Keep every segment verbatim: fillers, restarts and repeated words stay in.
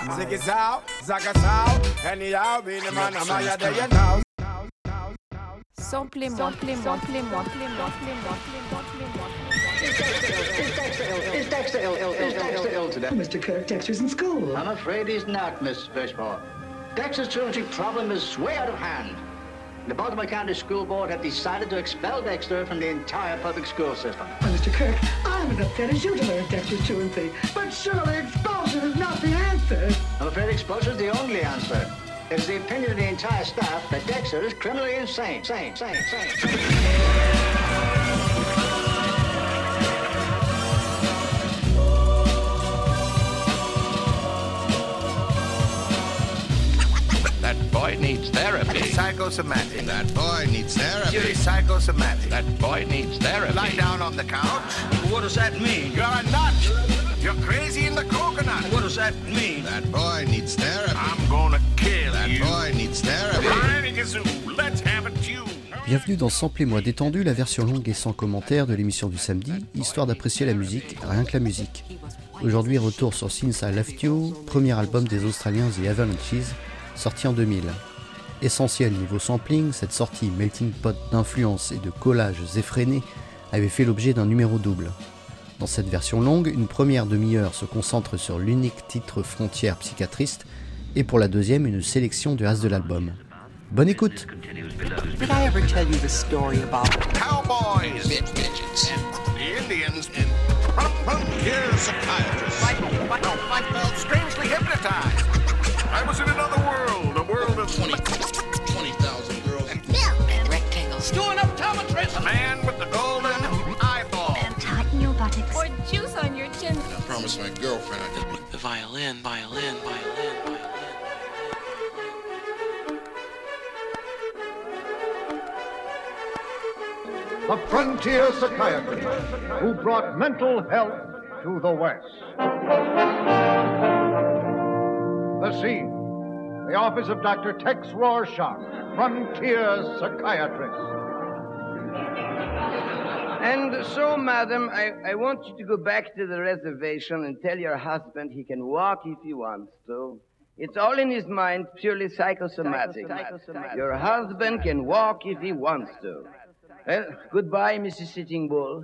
Ziggy Zow, Zaga Zow, anyhow, be the man, I'm out there, you know. Samplez-moi, samplez-moi, samplez-moi, samplez-moi, samplez-moi, Is Dexter ill, ill, ill, Dexter ill today? Mister Kirk, Dexter's in school. I'm afraid he's not, Miss Fishmore. Dexter's truancy problem is way out of hand. The Baltimore County School Board have decided to expel Dexter from the entire public school system. Well, Mister Kirk, I'm as upset as you to learn Dexter's truancy, but surely expulsion is not the answer. I'm afraid expulsion is the only answer. It's the opinion of the entire staff that Dexter is criminally insane. Sane, sane, sane. That boy needs therapy. Psychosomatic. That boy needs therapy. You're psychosomatic. That boy needs therapy. Lie down on the couch. What does that mean? You're a nut. You're crazy in the coconut. What does that mean? That boy needs therapy. I'm gonna kill That you. boy needs therapy. Let's have a tune. Bienvenue dans Samplez-moi détendu, la version longue et sans commentaire de l'émission du samedi, histoire d'apprécier la musique, rien que la musique. Aujourd'hui, retour sur Since I Left You, premier album des Australiens The Avalanches, sorti en deux mille. Essentiel niveau sampling, cette sortie melting pot d'influences et de collages effrénés avait fait l'objet d'un numéro double. Dans cette version longue, une première demi-heure se concentre sur l'unique titre Frontière psychiatriste, et pour la deuxième, une sélection du reste de l'album. Bonne écoute! Did I ever tell you the story about Cowboys, Midgets. the Indians, and frontier psychiatrists. I, I, I felt strangely hypnotized. I was in another world, a world of twenty thousand girls. and milk and rectangles? Doing optometrism. man with the golden eyeball. And tighten your buttocks. or juice on your chin. I promised my girlfriend I'd just The violin, violin, violin, violin. The frontier psychiatrist who brought mental health to the West. The scene, the office of Doctor Tex Rorschach, frontier psychiatrist. And so, madam, I, I want you to go back to the reservation and tell your husband he can walk if he wants to. It's all in his mind, purely psychosomatic. Psychosomatic. Your husband can walk if he wants to. Well, goodbye, Missus Sitting Bull.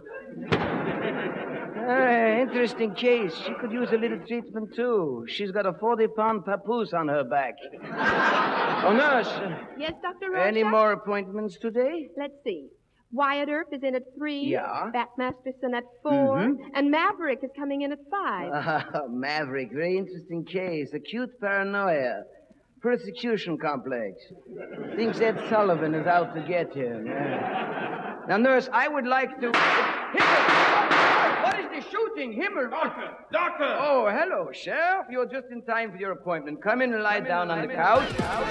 Ah, interesting case. She could use a little treatment, too. She's got a forty-pound papoose on her back. Oh, nurse. Yes, Doctor Rorschach? Any more appointments today? Let's see. Wyatt Earp is in at three. Yeah. Bat Masterson at four. Mhm. And Maverick is coming in at five. Ah, Maverick, very interesting case. Acute paranoia. Persecution complex. Thinks Ed Sullivan is out to get him. Yeah. Now, nurse, I would like to... Himmel! What is the shooting? Himmel! Doctor, doctor. Oh, hello, Sheriff. You're just in time for your appointment. Come in and lie down on the couch.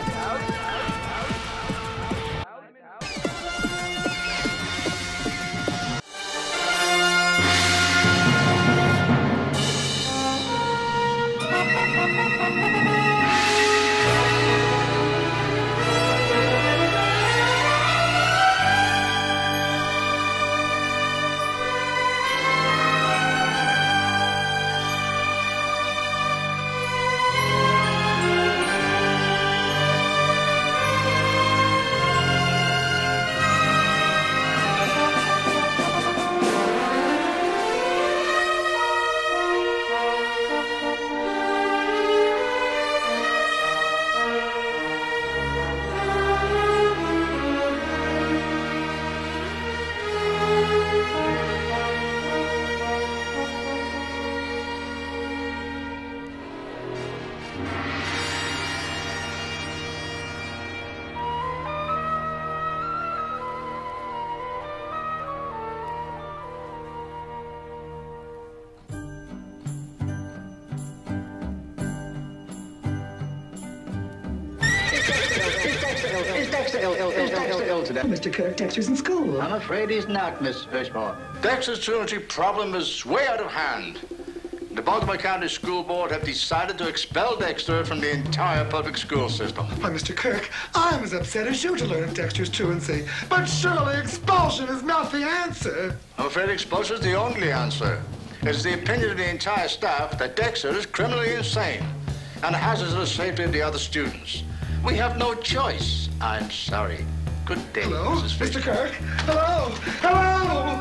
Is Dexter ill, ill, ill, Dexter ill today? Mister Kirk, Dexter's in school. I'm afraid he's not, Miss Fishmore. Dexter's truancy problem is way out of hand. The Baltimore County School Board have decided to expel Dexter from the entire public school system. Why, Mister Kirk, I'm as upset as you to learn of Dexter's truancy, but surely expulsion is not the answer. I'm afraid expulsion is the only answer. It's the opinion of the entire staff that Dexter is criminally insane. and hazards the safety of the other students. We have no choice. I'm sorry. Good day, Hello, Missus Mister Kirk. Hello. Hello.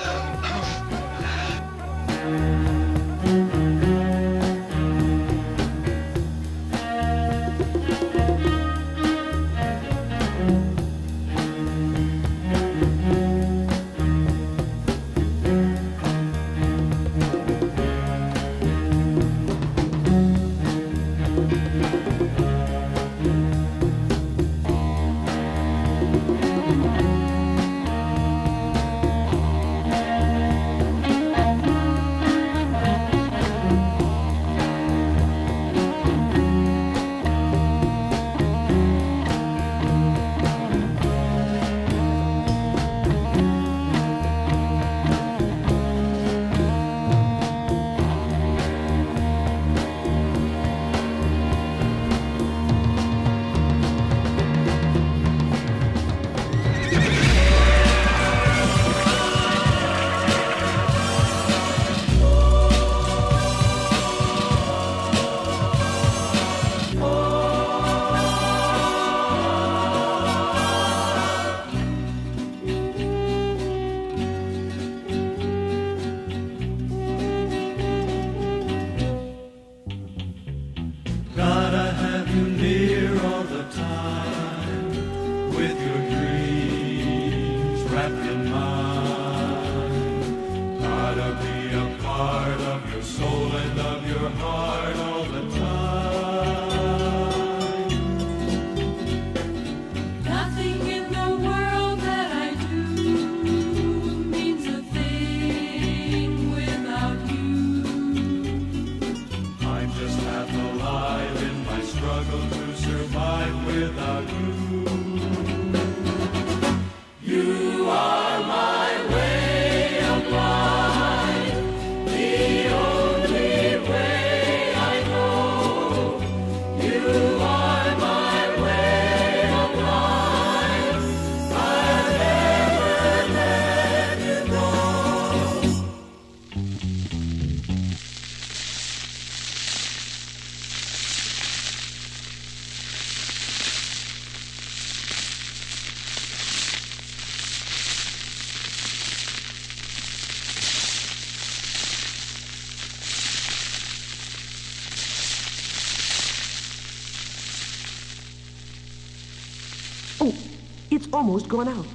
Oh, it's almost gone out.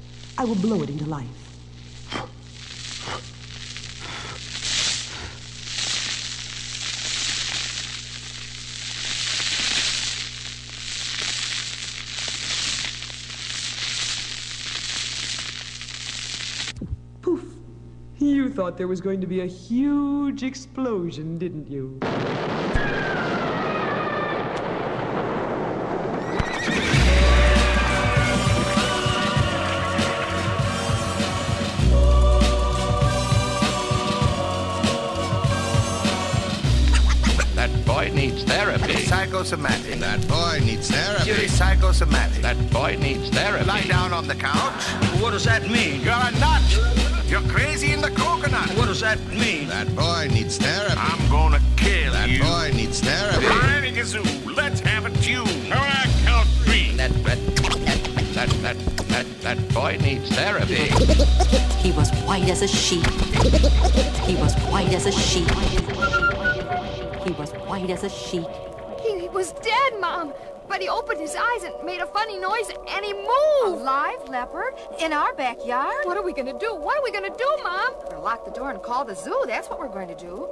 I will blow it into life. Poof. You thought there was going to be a huge explosion, didn't you? Needs therapy. Psychosomatic. That boy needs therapy. You're psychosomatic. That boy needs therapy. Lie down on the couch. What does that mean? You're a nut. You're crazy in the coconut. What does that mean? That boy needs therapy. I'm gonna kill that you. That boy needs therapy. Granny Gazoo, let's have a tune. How I count three. That, that, that, that, that, that boy needs therapy. He was white as a sheet. He was white as a sheet. He was white as a sheet. He was dead, Mom. But he opened his eyes and made a funny noise, and he moved. A live leopard in our backyard? What are we going to do? What are we going to do, Mom? We're going to lock the door and call the zoo. That's what we're going to do.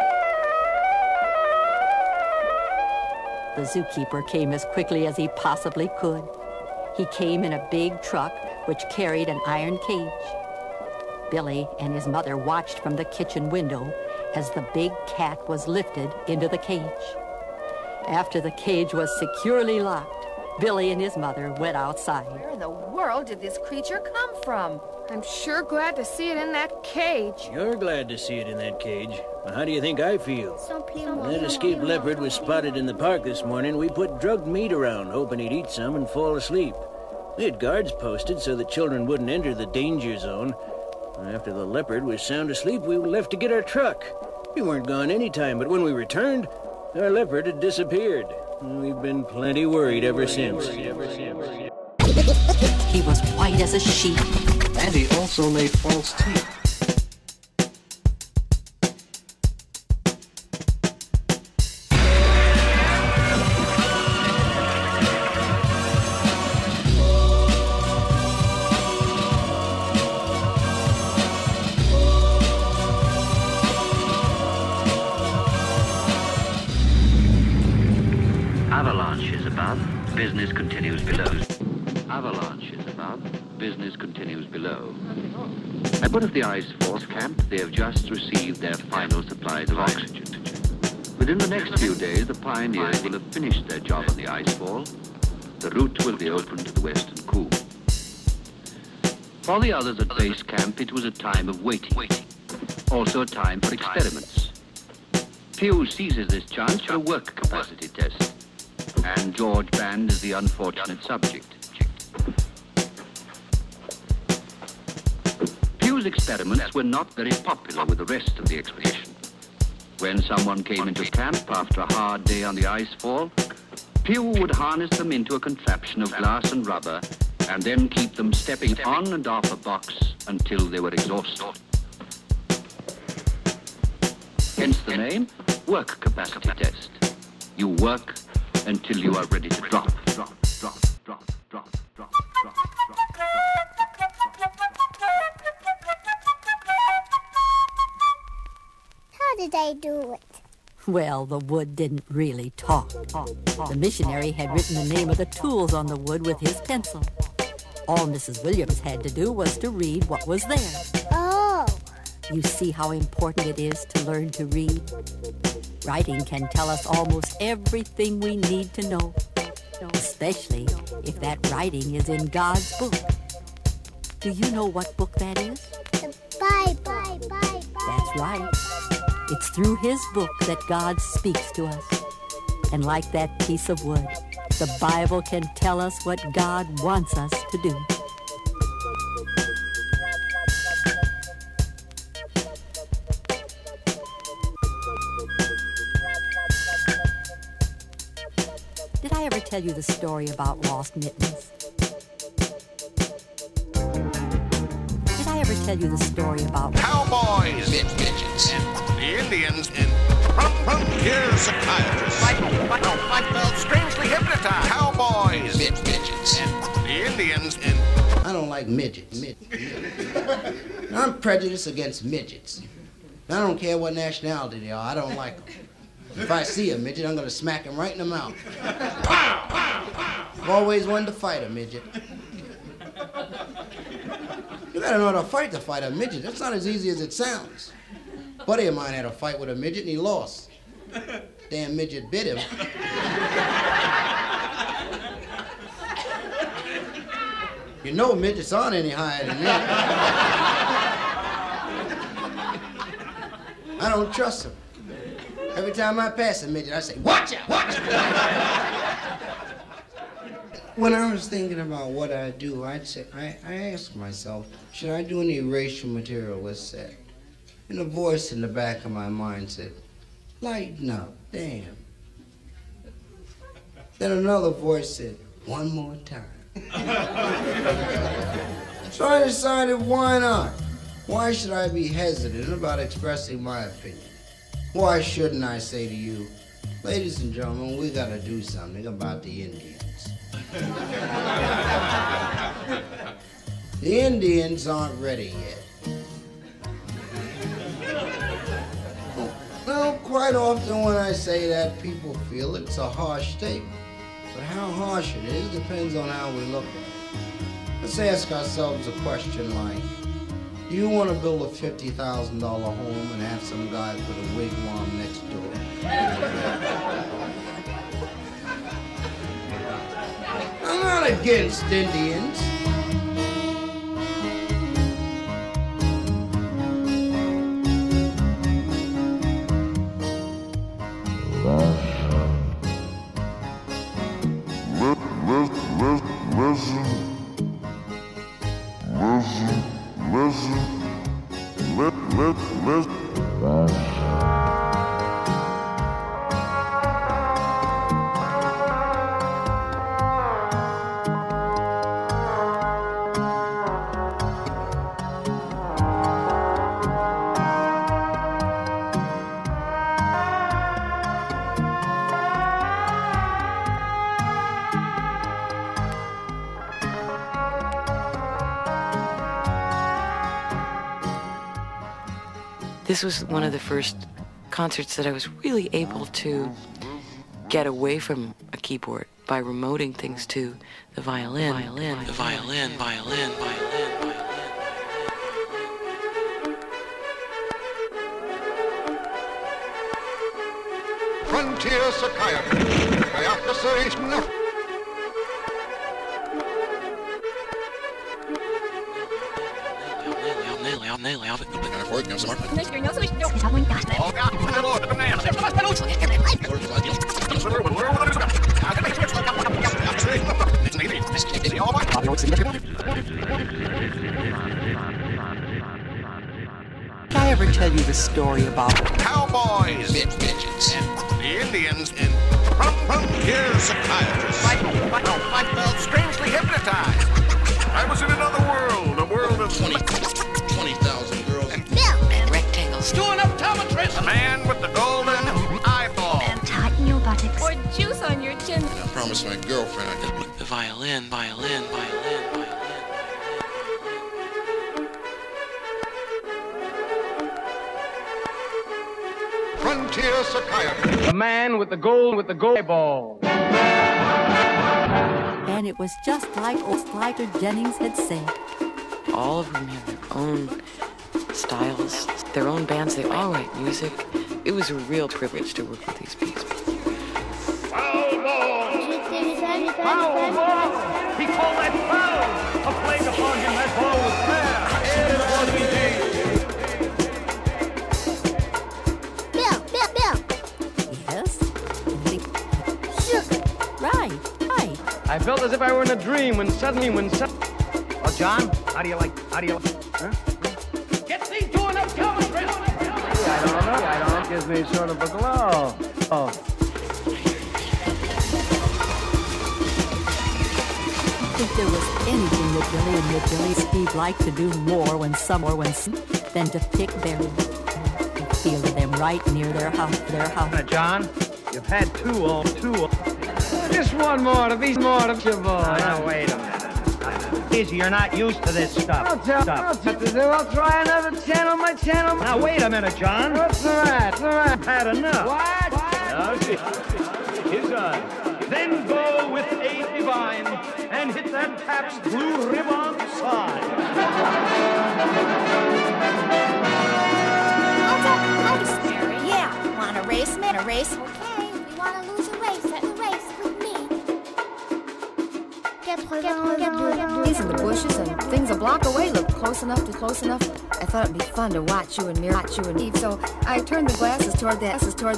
The zookeeper came as quickly as he possibly could. He came in a big truck which carried an iron cage. Billy and his mother watched from the kitchen window as the big cat was lifted into the cage. After the cage was securely locked, Billy and his mother went outside. Where in the world did this creature come from? I'm sure glad to see it in that cage. You're glad to see it in that cage. Well, how do you think I feel? When that escaped leopard was spotted in the park this morning, we put drugged meat around, hoping he'd eat some and fall asleep. We had guards posted so that children wouldn't enter the danger zone. After the leopard was sound asleep, we left to get our truck. We weren't gone any time, but when we returned, Our leopard had disappeared. We've been plenty worried ever since. He was white as a sheet. And he also made false teeth. Avalanches above, business continues below. Avalanches above, business continues below. At one of the ice force camp, they have just received their final supplies of oxygen. Within the next few days, the pioneers will have finished their job on the ice fall. The route will be open to the western coup. For the others at base camp, it was a time of waiting. Also a time for experiments. Pew seizes this chance for a work capacity test. And George Band is the unfortunate subject. Pew's experiments were not very popular with the rest of the expedition. When someone came into camp after a hard day on the ice fall, Pew would harness them into a contraption of glass and rubber and then keep them stepping on and off a box until they were exhausted. Hence the name, work capacity test. You work until you are ready to drop, drop, drop, drop, drop, drop, drop, drop. How did they do it? Well, the wood didn't really talk. The missionary had written the name of the tools on the wood with his pencil. All Missus Williams had to do was to read what was there. Oh. You see how important it is to learn to read? Writing can tell us almost everything we need to know, especially if that writing is in God's book. Do you know what book that is? The Bible. That's right. It's through his book that God speaks to us. And like that piece of wood, the Bible can tell us what God wants us to do. Did I ever tell you the story about lost mittens? Did I ever tell you the story about cowboys, Mid midgets, the Indians, and frontier psychiatrists, like, like, like the strangely hypnotized cowboys, Mid midgets, the Indians, and I don't like midgets. Mid- I'm prejudiced against midgets. I don't care what nationality they are. I don't like them. If I see a midget, I'm gonna smack him right in the mouth. Pow, pow, pow. I've always wanted to fight a midget. You gotta know how to fight to fight a midget. That's not as easy as it sounds. A buddy of mine had a fight with a midget and he lost. Damn midget bit him. You know midgets aren't any higher than that. I don't trust him. Every time I pass a midget, I say, watch out, watch out. When I was thinking about what I'd do, I'd say, I, I asked myself, should I do any racial material with set? And a voice in the back of my mind said, lighten up, damn. Then another voice said, one more time. So I decided, why not? Why should I be hesitant about expressing my opinion? Why shouldn't I say to you, ladies and gentlemen, we gotta do something about the Indians. The Indians aren't ready yet. Well, quite often when I say that, people feel it's a harsh statement. But how harsh it is depends on how we look at it. Let's ask ourselves a question like, do you want to build a fifty thousand dollar home and have some guy put a wigwam next door? I'm not against Indians. This was one of the first concerts that I was really able to get away from a keyboard by remoting things to the violin, violin, the violin, violin, violin, violin. Frontier psychiatry. Psychiatry. Did I ever tell you the story about cowboys, midgets, and the Indians in Frontier Psychiatrist? I, I, I felt strangely hypnotized. I was in another world, a world of twenty thousand girls. And Bill! And rectangles. Do an optometrist! A man with the golden eyeball. And tighten your buttocks. Or juice on your chin. I promised my girlfriend I did. The violin, violin, violin, violin. Frontier psychiatry. The man with the gold with the gold eyeball. And it was just like Oster Jennings had said. All of them have their own styles, their own bands. They all write music. It was a real privilege to work with these people. Foul ball! Foul ball! He called that foul! A plague upon him, that ball was fair! It was indeed! Bill, Bill, Bill. Yes? Sugar. Right, right. I felt as if I were in a dream when suddenly, when suddenly... Oh, John, how do you like, how do you like, huh? Get thee to an optometrist! I don't know, I don't know. It gives me sort of a glow. Oh. I think there was anything that Billy and that Billy Steve liked to do more when some or when some than to pick berries and feel them right near their house, their house. Now, John, you've had two all two. Just one more of these more of your boy. Now, wait a minute. Easy, you're not used to this stuff. I'll tell I'll, t- I'll try another channel, my channel. Now, wait a minute, John. What's the right? The right. Had enough. What? Now, see. His eyes. Then go with a divine and hit that Pabst Blue Ribbon sign. Yeah, want a race, man? A race? Okay, you want to lose a race at the race with me. These in the bushes and things a block away look close enough to close enough. I thought it'd be fun to watch you and Mary, watch you and Eve. So I turned the glasses toward the glasses toward.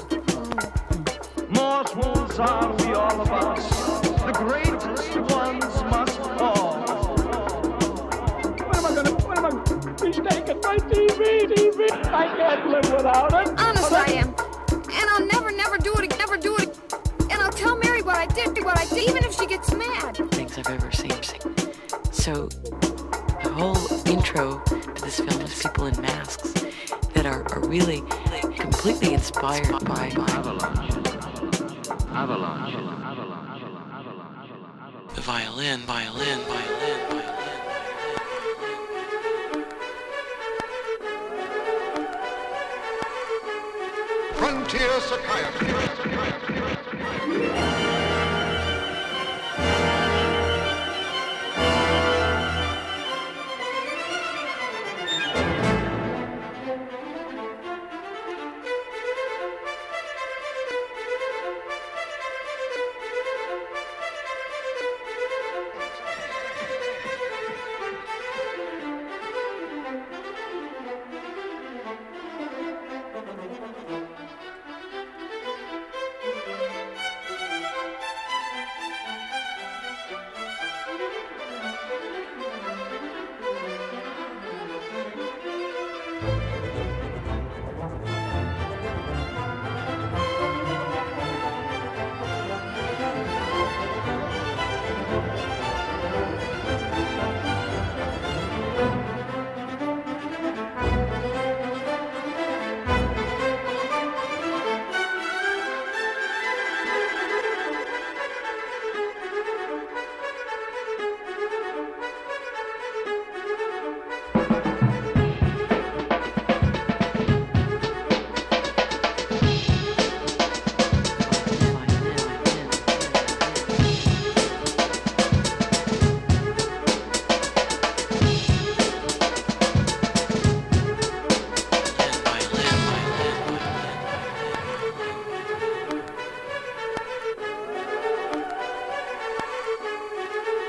Mortals are we all of us. The greatest ones must fall. What am I gonna, what am I, he's taking my T V, T V. I can't live without it. Honest I am. And I'll never, never do it, never do it. And I'll tell Mary what I did, what I did, even if she gets mad. Things I've ever seen. So the whole intro to this film is people in masks that are, are really like, completely inspired by, by Avalanche. Avalanche. the violin, violin, violin, violin. Frontier psychiatry.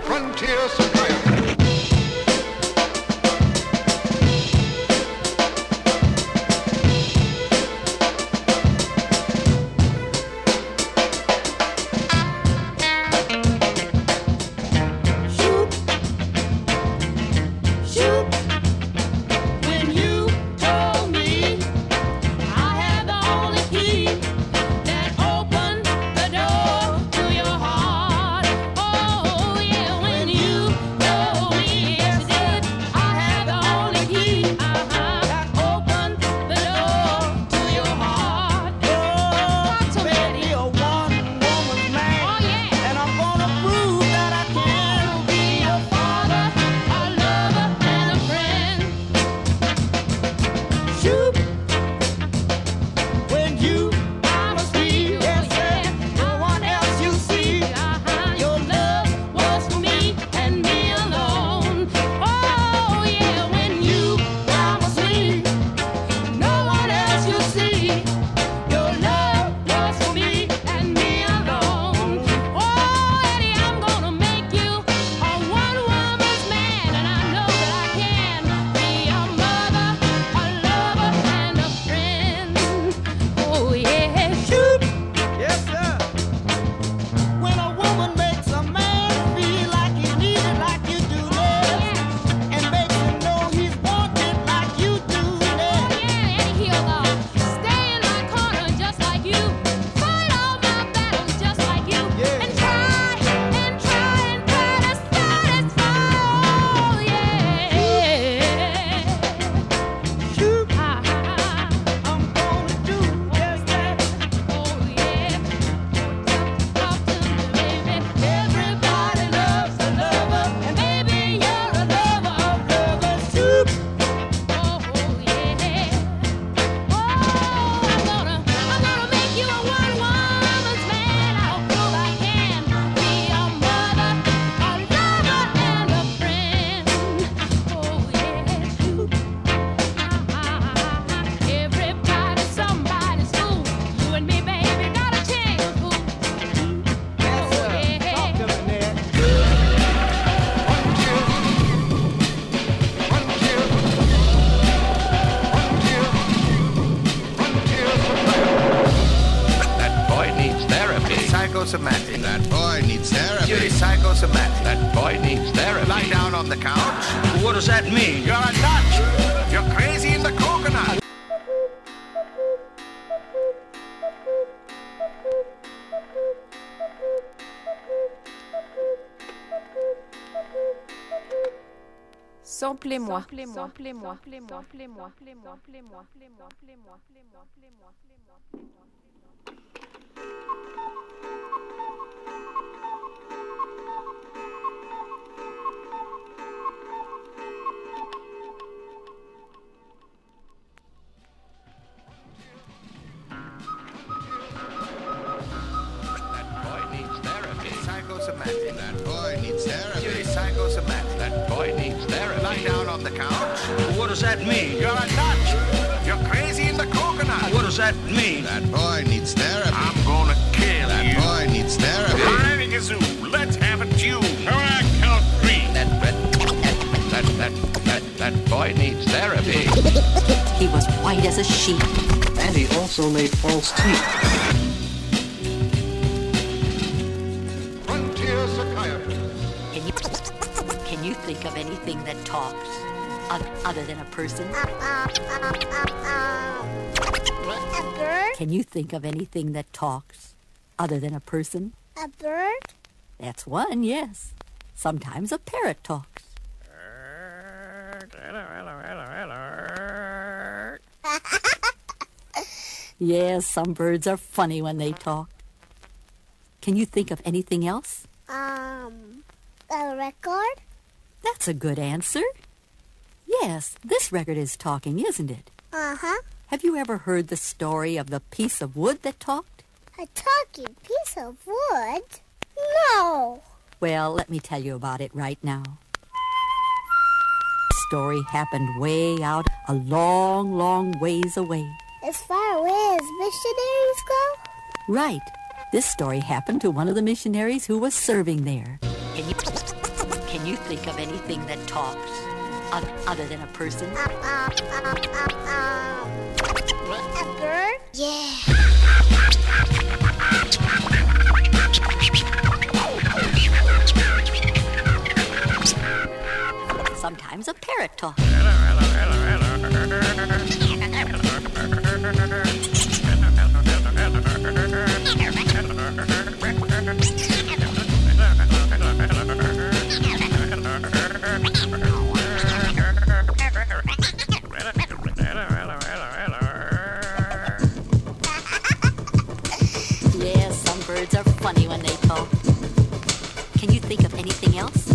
Frontier Psychiatry. Psychosomatic. That boy needs therapy. You're psychosomatic. That boy needs therapy. Lie down on the couch. What does that mean? You're a nut. You're crazy in the coconut. Samplez-moi. Samplez-moi. Samplez-moi. Samplez-moi. Samplez-moi. Samplez-moi. Samplez-moi. Samplez-moi. Samplez-moi. Psychosomatic. That boy needs therapy. You're psychosomatic. That boy needs therapy. Lie down on the couch. What does that mean? You're a nut. You're crazy in the coconut. What does that mean? That boy needs therapy. I'm gonna kill that you. That boy needs therapy. Riding a zoo. Let's have a chew. I count three. That, that, that, that, that, that boy needs therapy. He was white as a sheet. And he also made false teeth. Frontier Psychiatry. Can you, can you think of anything that talks other than a person? A bird? Can you think of anything that talks other than a person? A bird? That's one, yes. Sometimes a parrot talks. Yes, some birds are funny when they talk. Can you think of anything else? Um, a record? That's a good answer. Yes, this record is talking, isn't it? Uh-huh. Have you ever heard the story of the piece of wood that talked? A talking piece of wood? No. Well, let me tell you about it right now. The story happened way out, a long, long ways away. As far away as missionaries go? Right. This story happened to one of the missionaries who was serving there. Can you, Can you think of anything that talks other, other than a person? Uh, uh, uh, uh, uh. A bird? Yeah. Sometimes a parrot talks. Yeah, some birds are funny when they talk. Can you think of anything else?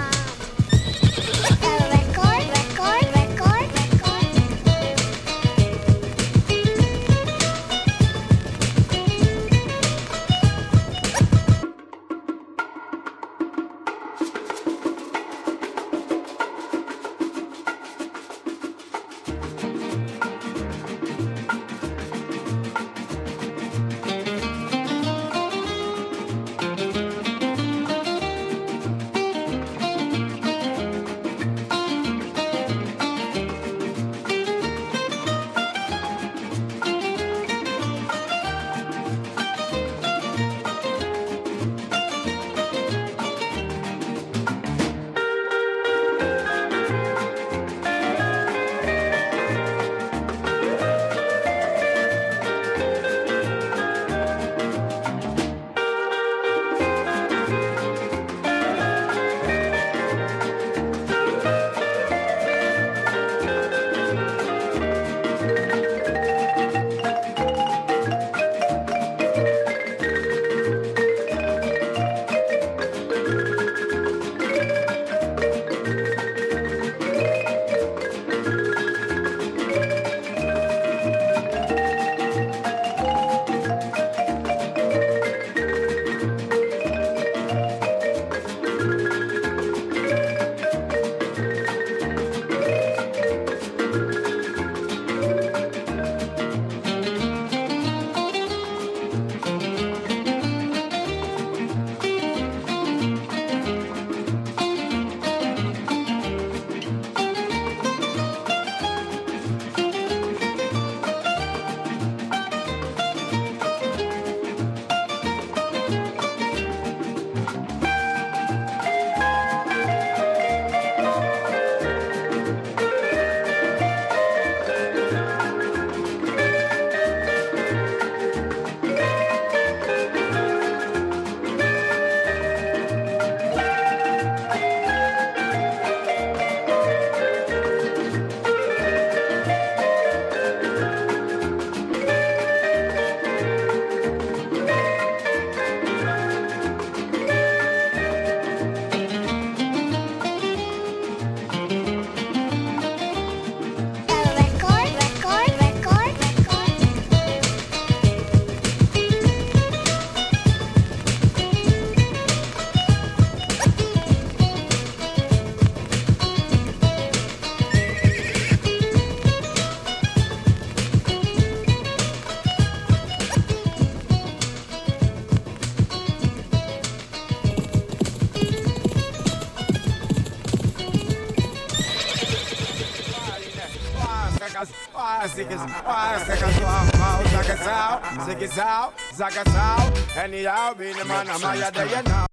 Anyhow, be the man, I'm higher than you now.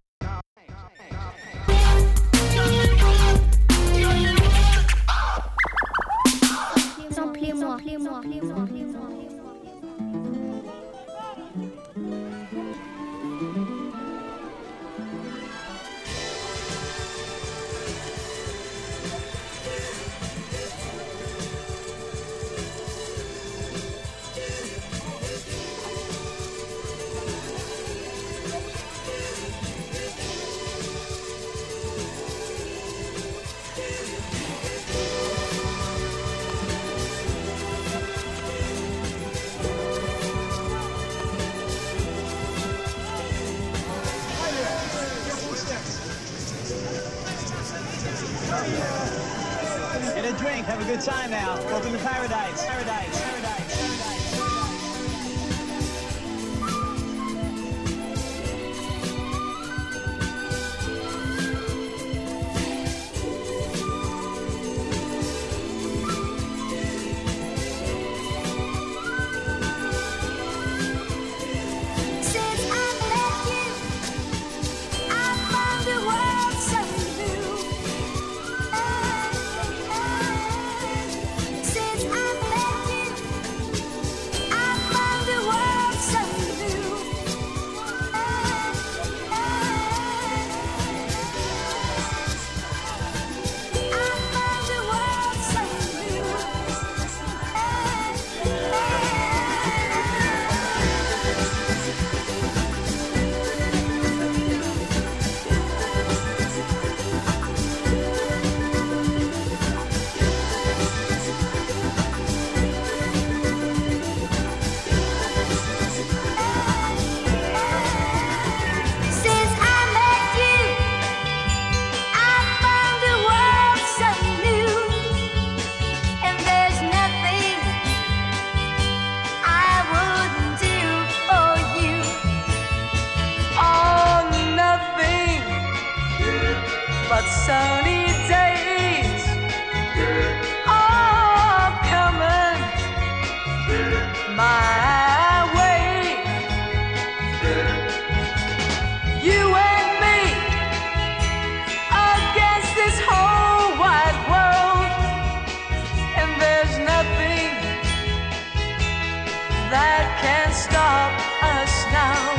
Samplez-moi, samplez-moi, samplez-moi. Get a drink, have a good time now. Welcome to paradise, paradise, paradise, paradise. but sunny days are coming my way. You and me against this whole wide world, and there's nothing that can stop us now.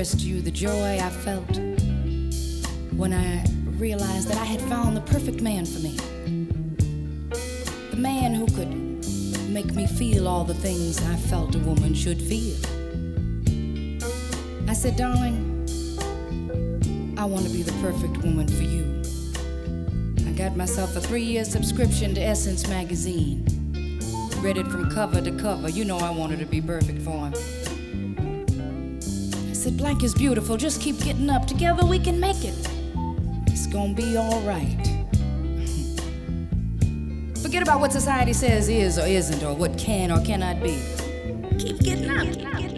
expressed to you the joy I felt when I realized that I had found the perfect man for me. The man who could make me feel all the things I felt a woman should feel. I said, darling, I want to be the perfect woman for you. I got myself a three-year subscription to Essence magazine. Read it from cover to cover. You know I wanted to be perfect for him. I said, Blank is beautiful. Just keep getting up. Together we can make it. It's gonna be all right. Forget about what society says is or isn't, or what can or cannot be. Keep getting up.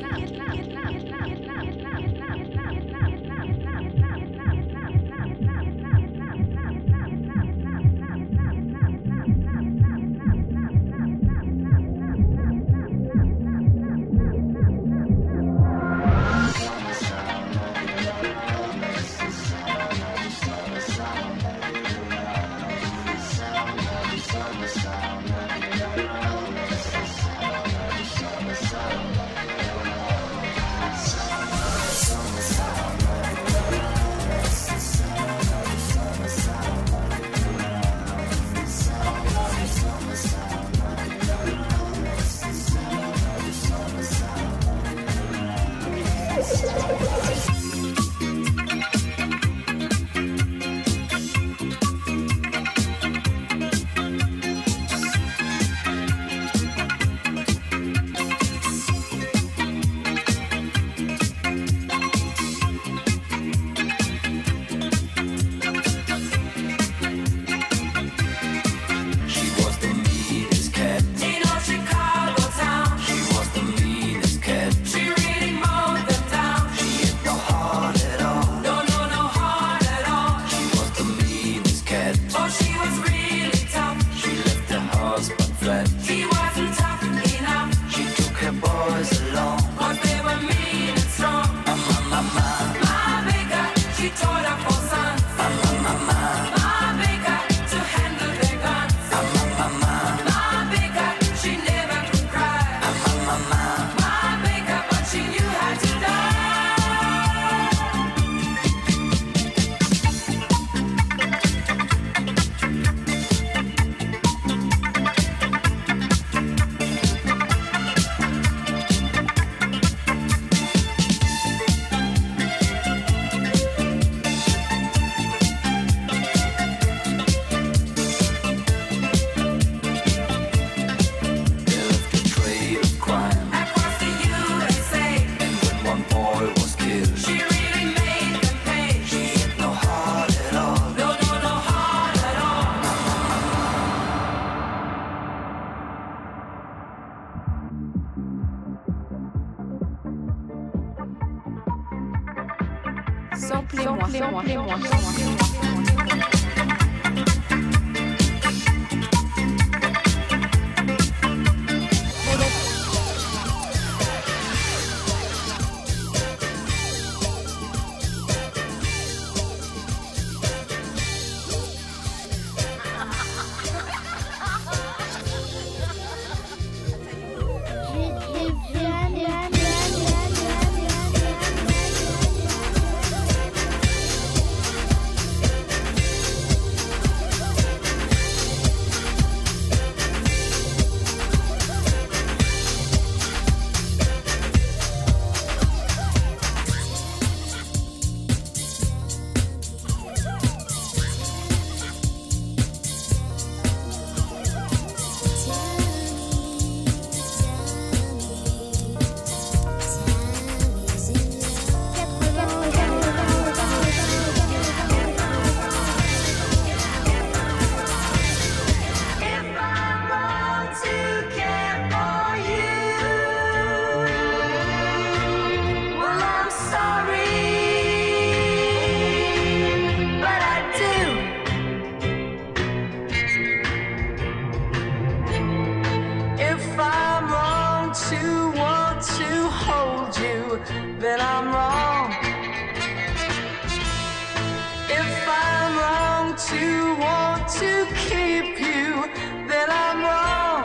Samplez-moi, samplez-moi, samplez-moi. Then I'm wrong. If I'm wrong to want to keep you, then I'm wrong.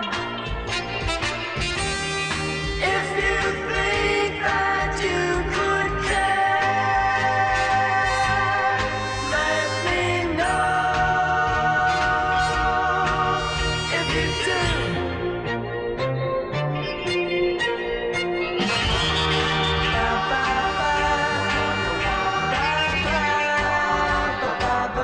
If you think that you could care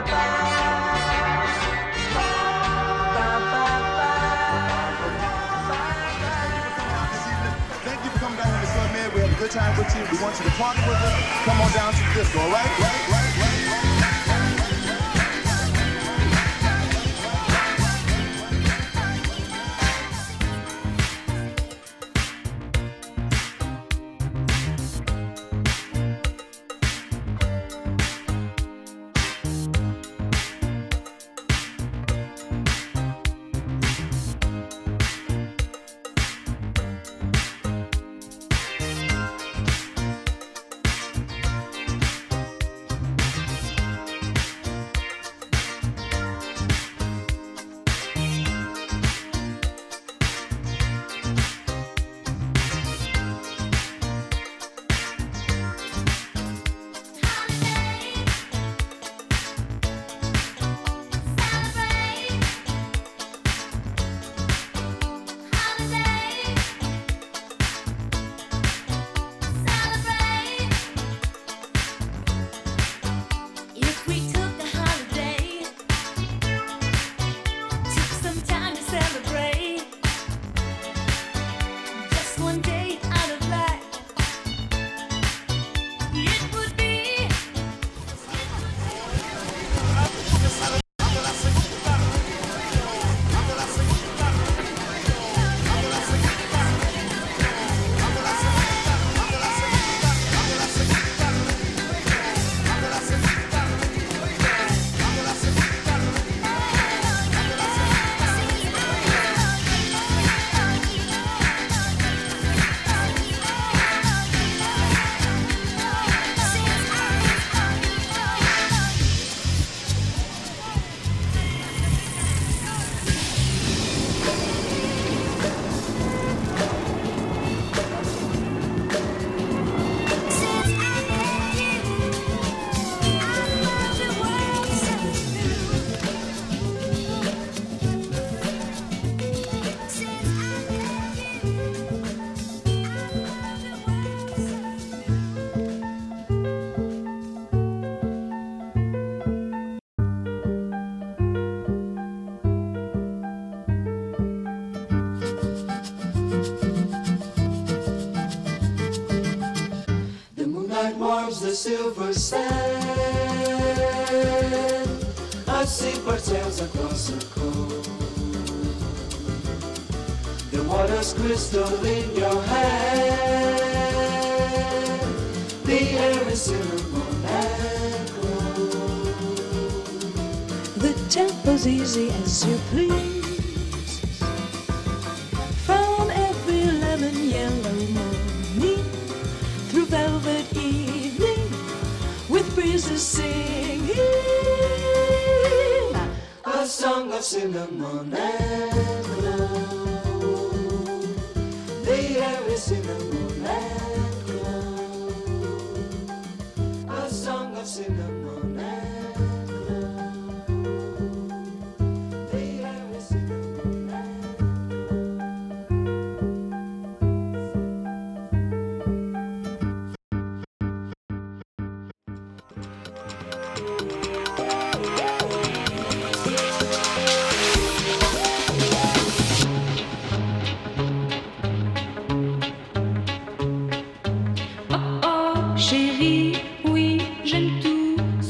Time with you. We want you to party with us. Come on down to the disco, all right? Right, right, right, right. The silver sand, I see sails across the coast. The water's crystal in your hand, the air is cinnamon and gold. The tempo's easy as you please, from every lemon yellow morning through velvet evening with breezes singing a song of cinnamon and gold. The air is cinnamon and gold, a song of cinnamon and gold. The air is cinnamon and chérie, oui, j'aime tout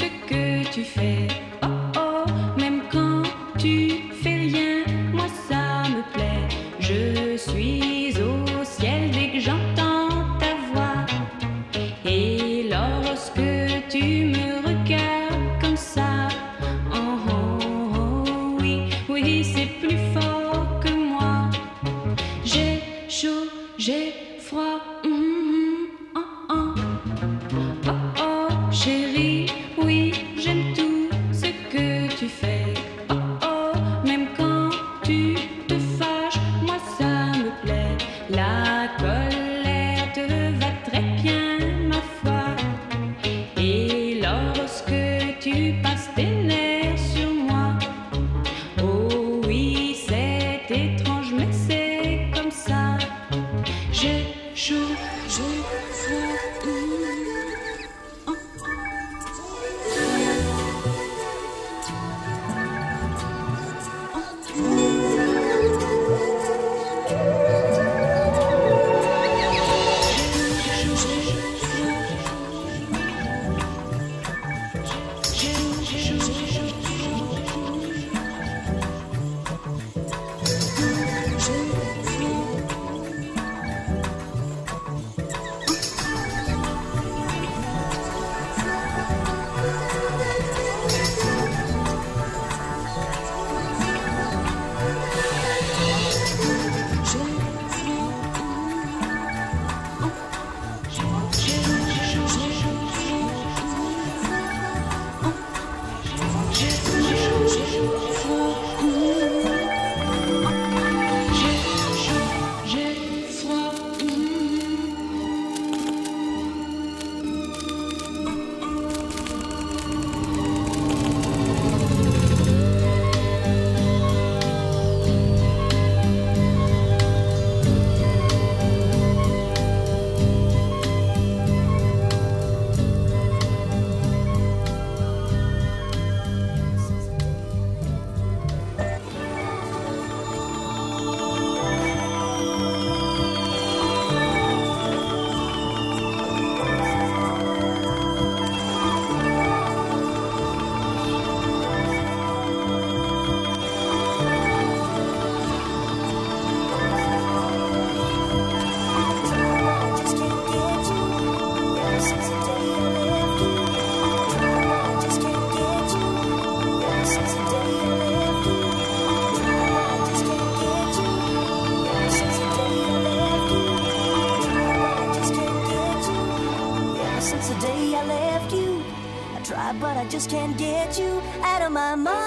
I just can't get you out of my mind.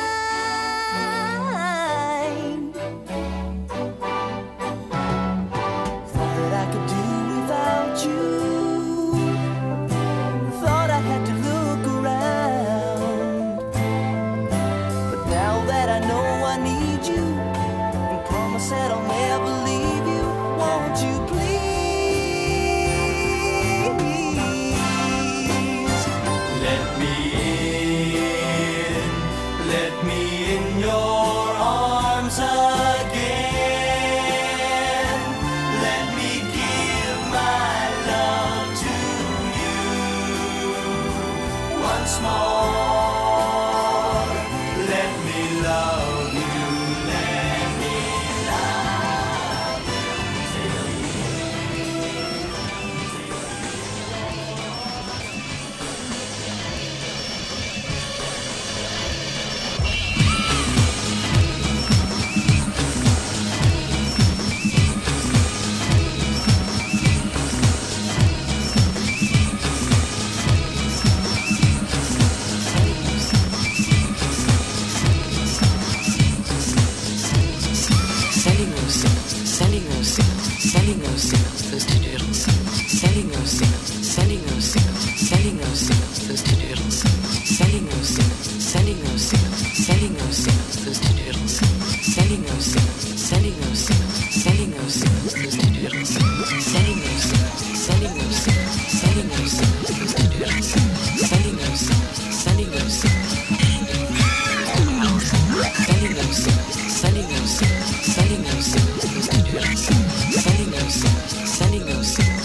Thought that I could do without you. Thought I had to look around. But now that I know I need you, and promise that I'll never leave you, won't you please? Let me in, let me in your arms again. Let me give my love to you once more. Let me love you, let me love Sending those signals, sending those signals, sending those signals, those two doodles. Sending those signals, sending those signals, sending those signals, those two doodles. Sending those signals, sending those signals, sending those signals, those two doodles. Sending those signals, sending those signals, sending those signals, those two doodles. Sending those signals, sending those signals, sending those signals, those two doodles. Sending those signals, sending those signals. Sending those signals, sending those signals, sending those signals, those two doodles. Sending those signals, sending those signals.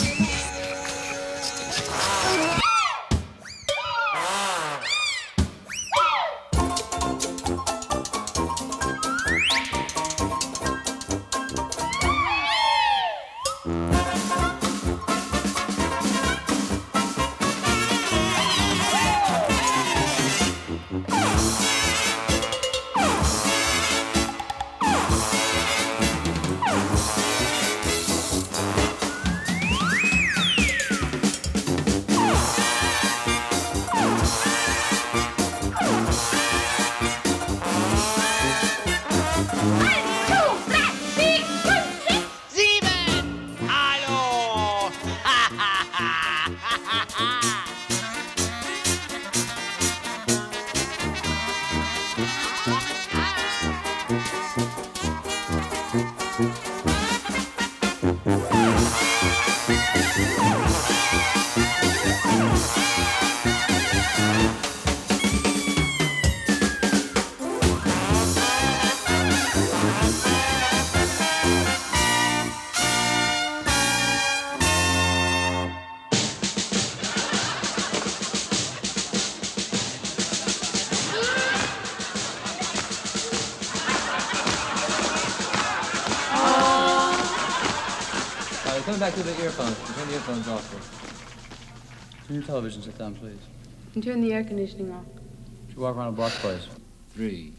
Coming back to the earphones. Turn the earphones off, please. Turn your television set down, please. And turn the air conditioning off. Should walk around a block, please. Three.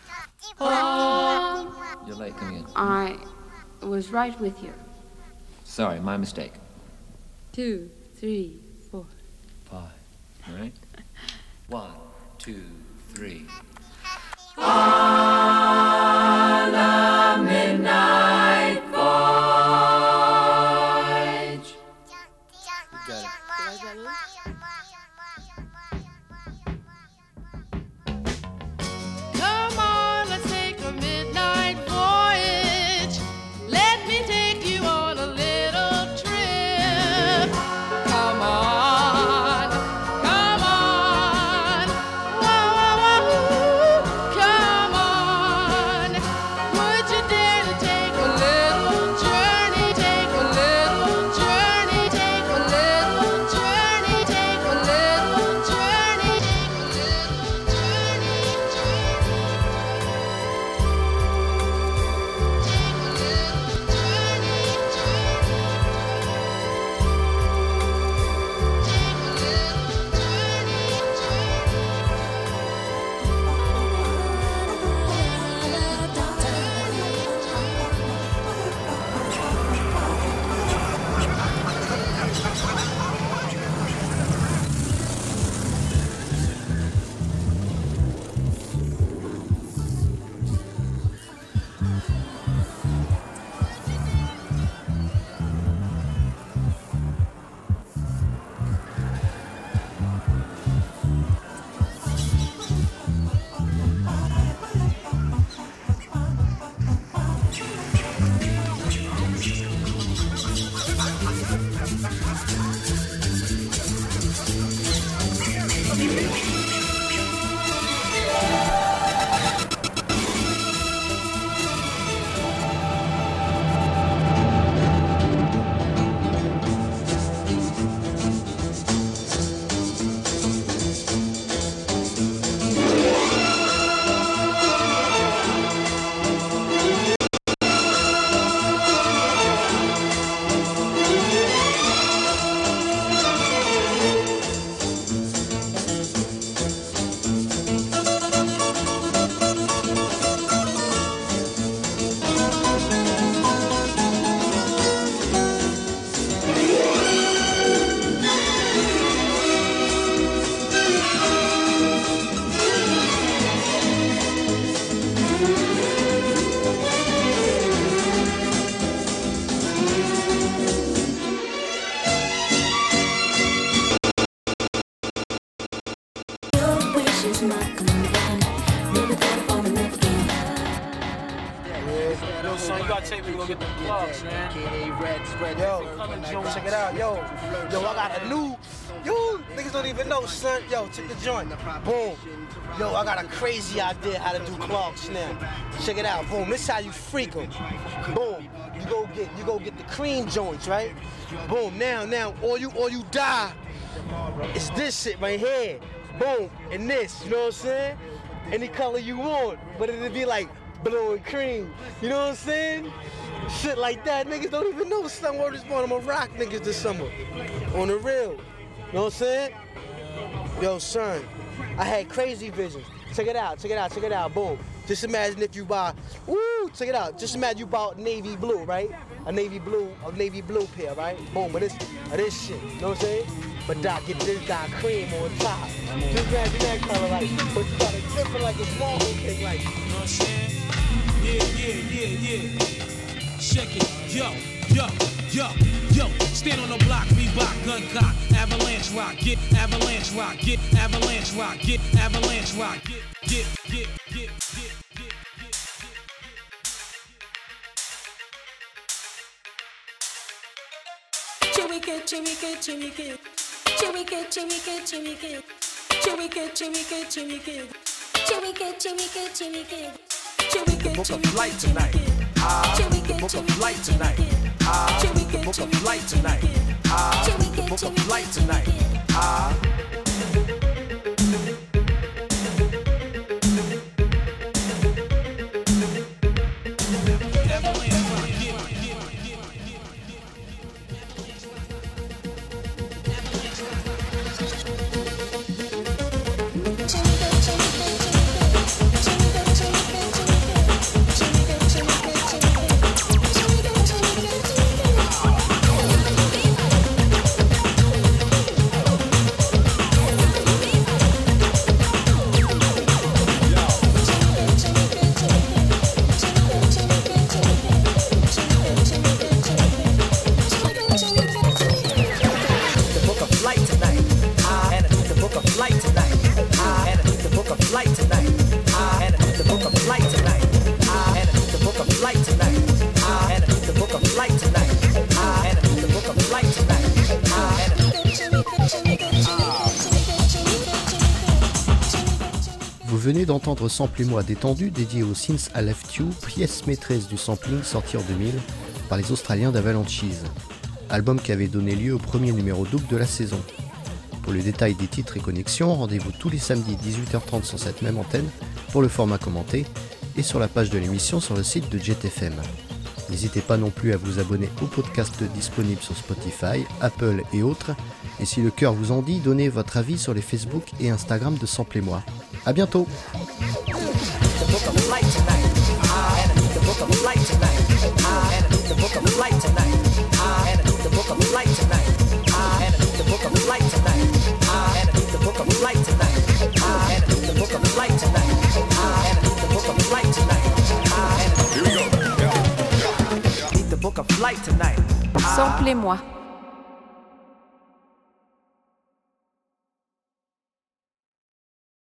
Oh. You're late coming in. I was right with you. Sorry, my mistake. Two, three, four. Five. All right? One, two, three. On the midnight voyage. Got it. Come on, let's take a midnight voyage. Let me take you on a little trip. Come on, come on, whoa, whoa, whoa. Come on. Yo, son, you gotta take me to go get the plugs, man. Yo, check it out, yo. Yo, I got a new, yo, niggas don't even know, son. Yo, check the joint. Boom. Yo, I got a crazy idea how to do clogs now. Check it out, boom. This how you freak 'em. Boom. You go get, you go get the cream joints, right? Boom. Now, now, all you, all you die is this shit right here. Boom. And this, you know what I'm saying? Any color you want, but it'll be like blue and cream. You know what I'm saying? Shit like that. Niggas don't even know some word is born. I'm gonna rock niggas this summer. On the real. You know what I'm saying? Yo, son, I had crazy visions. Check it out, check it out, check it out. Boom. Just imagine if you buy, woo, check it out. Just imagine you bought navy blue, right? A navy blue, a navy blue pair, right? Boom, but this, this shit, you know what I'm saying? But Doc, get this Doc cream on top. Just imagine that color, like, but you gotta dip it like a small cake, like, you know what I'm saying? Yeah, yeah, yeah, yeah. Check it, yo, yo, yo, yo. Stand on the block, Reebok, gun cock, avalanche rock, get avalanche rock, get avalanche rock, get avalanche rock, get, get, get, get, get, get. Chewy kid, chewy kid, chewy kid. Chewy kid, chewy kid, chewy kid. Chewy kid, chewy kid, chewy kid. Chewy kid, chewy kid, chewy kid. The book of flight tonight. Ah, the book of flight tonight. Ah, the book of flight tonight. Ah, the book of flight tonight. Ah. Vous venez d'entendre Samplez-moi détendu dédié au Since I Left You, pièce maîtresse du sampling sortie en deux mille par les Australiens d'Avalanches, album qui avait donné lieu au premier numéro double de la saison. Pour le détail des titres et connexions, rendez-vous tous les samedis dix-huit heures trente sur cette même antenne pour le format commenté et sur la page de l'émission sur le site de Jet F M. N'hésitez pas non plus à vous abonner au podcast disponible sur Spotify, Apple et autres. Et si le cœur vous en dit, donnez votre avis sur les Facebook et Instagram de Samplez-moi. À bientôt. Samplez-moi.